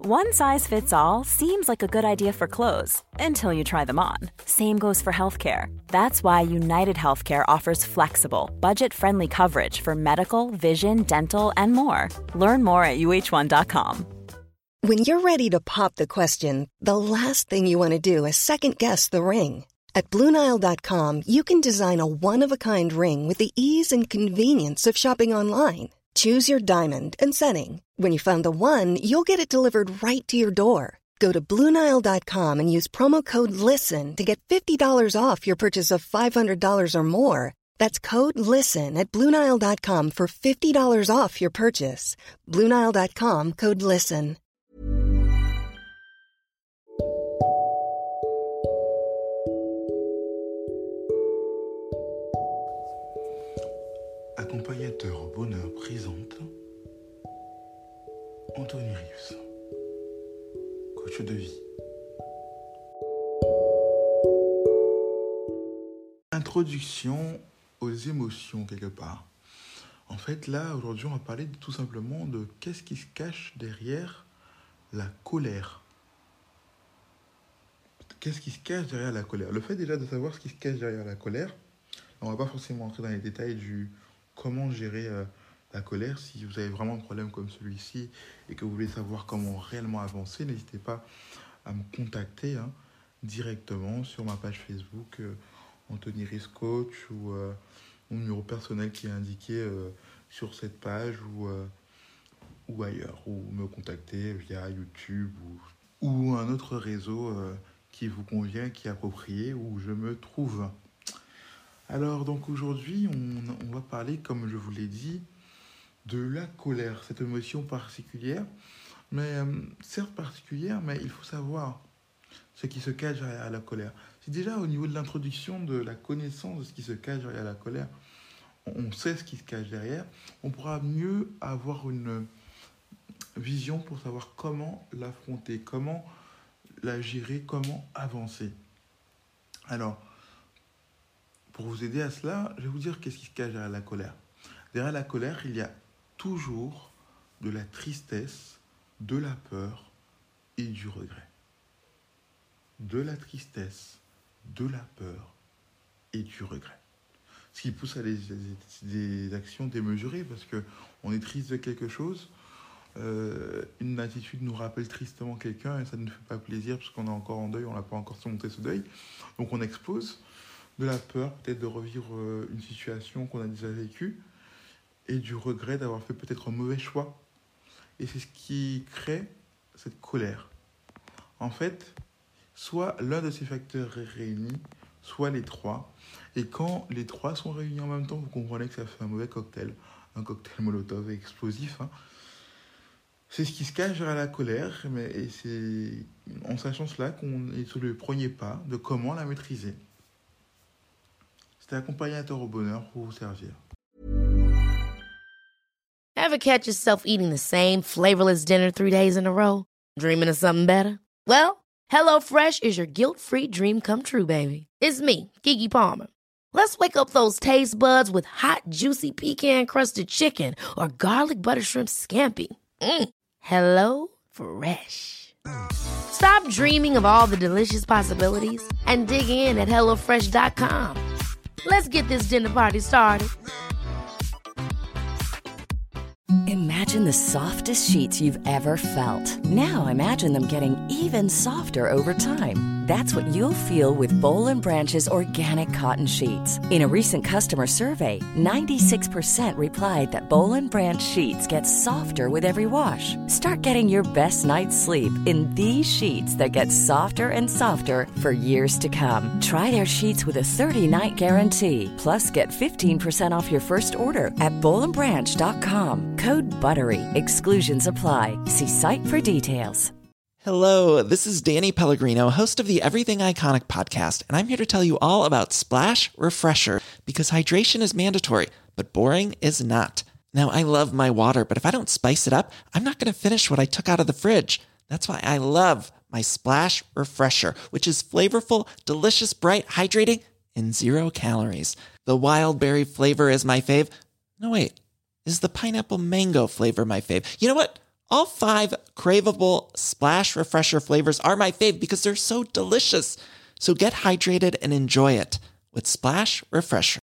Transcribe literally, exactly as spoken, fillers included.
One size fits all seems like a good idea for clothes until you try them on. Same goes for healthcare. That's why United Healthcare offers flexible, budget-friendly coverage for medical, vision, dental, and more. Learn more at U H one dot com. When you're ready to pop the question, the last thing you want to do is second-guess the ring. At Blue Nile dot com, you can design a one-of-a-kind ring with the ease and convenience of shopping online. Choose your diamond and setting. When you find the one, you'll get it delivered right to your door. Go to Blue Nile dot com and use promo code LISTEN to get fifty dollars off your purchase of five hundred dollars or more. That's code LISTEN at Blue Nile dot com for fifty dollars off your purchase. Blue Nile dot com, code LISTEN. Accompagnateur au bonheur présente Anthony Reeves, coach de vie. Introduction aux émotions quelque part. En fait, là, aujourd'hui, on va parler de, tout simplement de qu'est-ce qui se cache derrière la colère. Qu'est-ce qui se cache derrière la colère? Le fait déjà de savoir ce qui se cache derrière la colère, on ne va pas forcément entrer dans les détails du comment gérer euh, la colère. Si vous avez vraiment un problème comme celui-ci et que vous voulez savoir comment réellement avancer, n'hésitez pas à me contacter hein, directement sur ma page Facebook euh, Anthony Reeves Coach ou euh, mon numéro personnel qui est indiqué euh, sur cette page ou, euh, ou ailleurs, ou me contacter via YouTube ou, ou un autre réseau euh, qui vous convient, qui est approprié, où je me trouve. Alors, donc aujourd'hui, on, on va parler, comme je vous l'ai dit, de la colère, cette émotion particulière, mais euh, certes particulière, mais il faut savoir ce qui se cache derrière la colère. C'est déjà au niveau de l'introduction, de la connaissance de ce qui se cache derrière la colère, on, on sait ce qui se cache derrière, on pourra mieux avoir une vision pour savoir comment l'affronter, comment la gérer, comment avancer. Alors, pour vous aider à cela, je vais vous dire qu'est-ce qui se cache derrière la colère. Derrière la colère, il y a toujours de la tristesse, de la peur et du regret. De la tristesse, de la peur et du regret. Ce qui pousse à des, des, des actions démesurées parce qu'on est triste de quelque chose. Euh, une attitude nous rappelle tristement quelqu'un et ça ne nous fait pas plaisir parce qu'on est encore en deuil, on n'a pas encore surmonté ce deuil. Donc on explose. De la peur peut-être de revivre une situation qu'on a déjà vécue et du regret d'avoir fait peut-être un mauvais choix. Et c'est ce qui crée cette colère. En fait, soit l'un de ces facteurs est réuni, soit les trois. Et quand les trois sont réunis en même temps, vous comprenez que ça fait un mauvais cocktail, un cocktail Molotov explosif. Hein. C'est ce qui se cache derrière la colère, mais et c'est en sachant cela qu'on est sur le premier pas de comment la maîtriser. C'était accompagnateur au bonheur pour vous servir. Ever catch yourself eating the same flavorless dinner three days in a row? Dreaming of something better? Well, HelloFresh is your guilt-free dream come true, baby. It's me, Keke Palmer. Let's wake up those taste buds with hot, juicy pecan-crusted chicken or garlic butter shrimp scampi. Mm. Hello Fresh. Stop dreaming of all the delicious possibilities and dig in at hello fresh dot com. Let's get this dinner party started. Imagine the softest sheets you've ever felt. Now imagine them getting even softer over time. That's what you'll feel with Boll and Branch's organic cotton sheets. In a recent customer survey, ninety-six percent replied that Boll and Branch sheets get softer with every wash. Start getting your best night's sleep in these sheets that get softer and softer for years to come. Try their sheets with a thirty-night guarantee. Plus, get fifteen percent off your first order at boll and branch dot com. Code BUTTERY. Exclusions apply. See site for details. Hello, this is Danny Pellegrino, host of the Everything Iconic podcast, and I'm here to tell you all about Splash Refresher, because hydration is mandatory, but boring is not. Now, I love my water, but if I don't spice it up, I'm not going to finish what I took out of the fridge. That's why I love my Splash Refresher, which is flavorful, delicious, bright, hydrating, and zero calories. The wild berry flavor is my fave. No, wait, is the pineapple mango flavor my fave? You know what? All five craveable Splash Refresher flavors are my fave because they're so delicious. So get hydrated and enjoy it with Splash Refresher.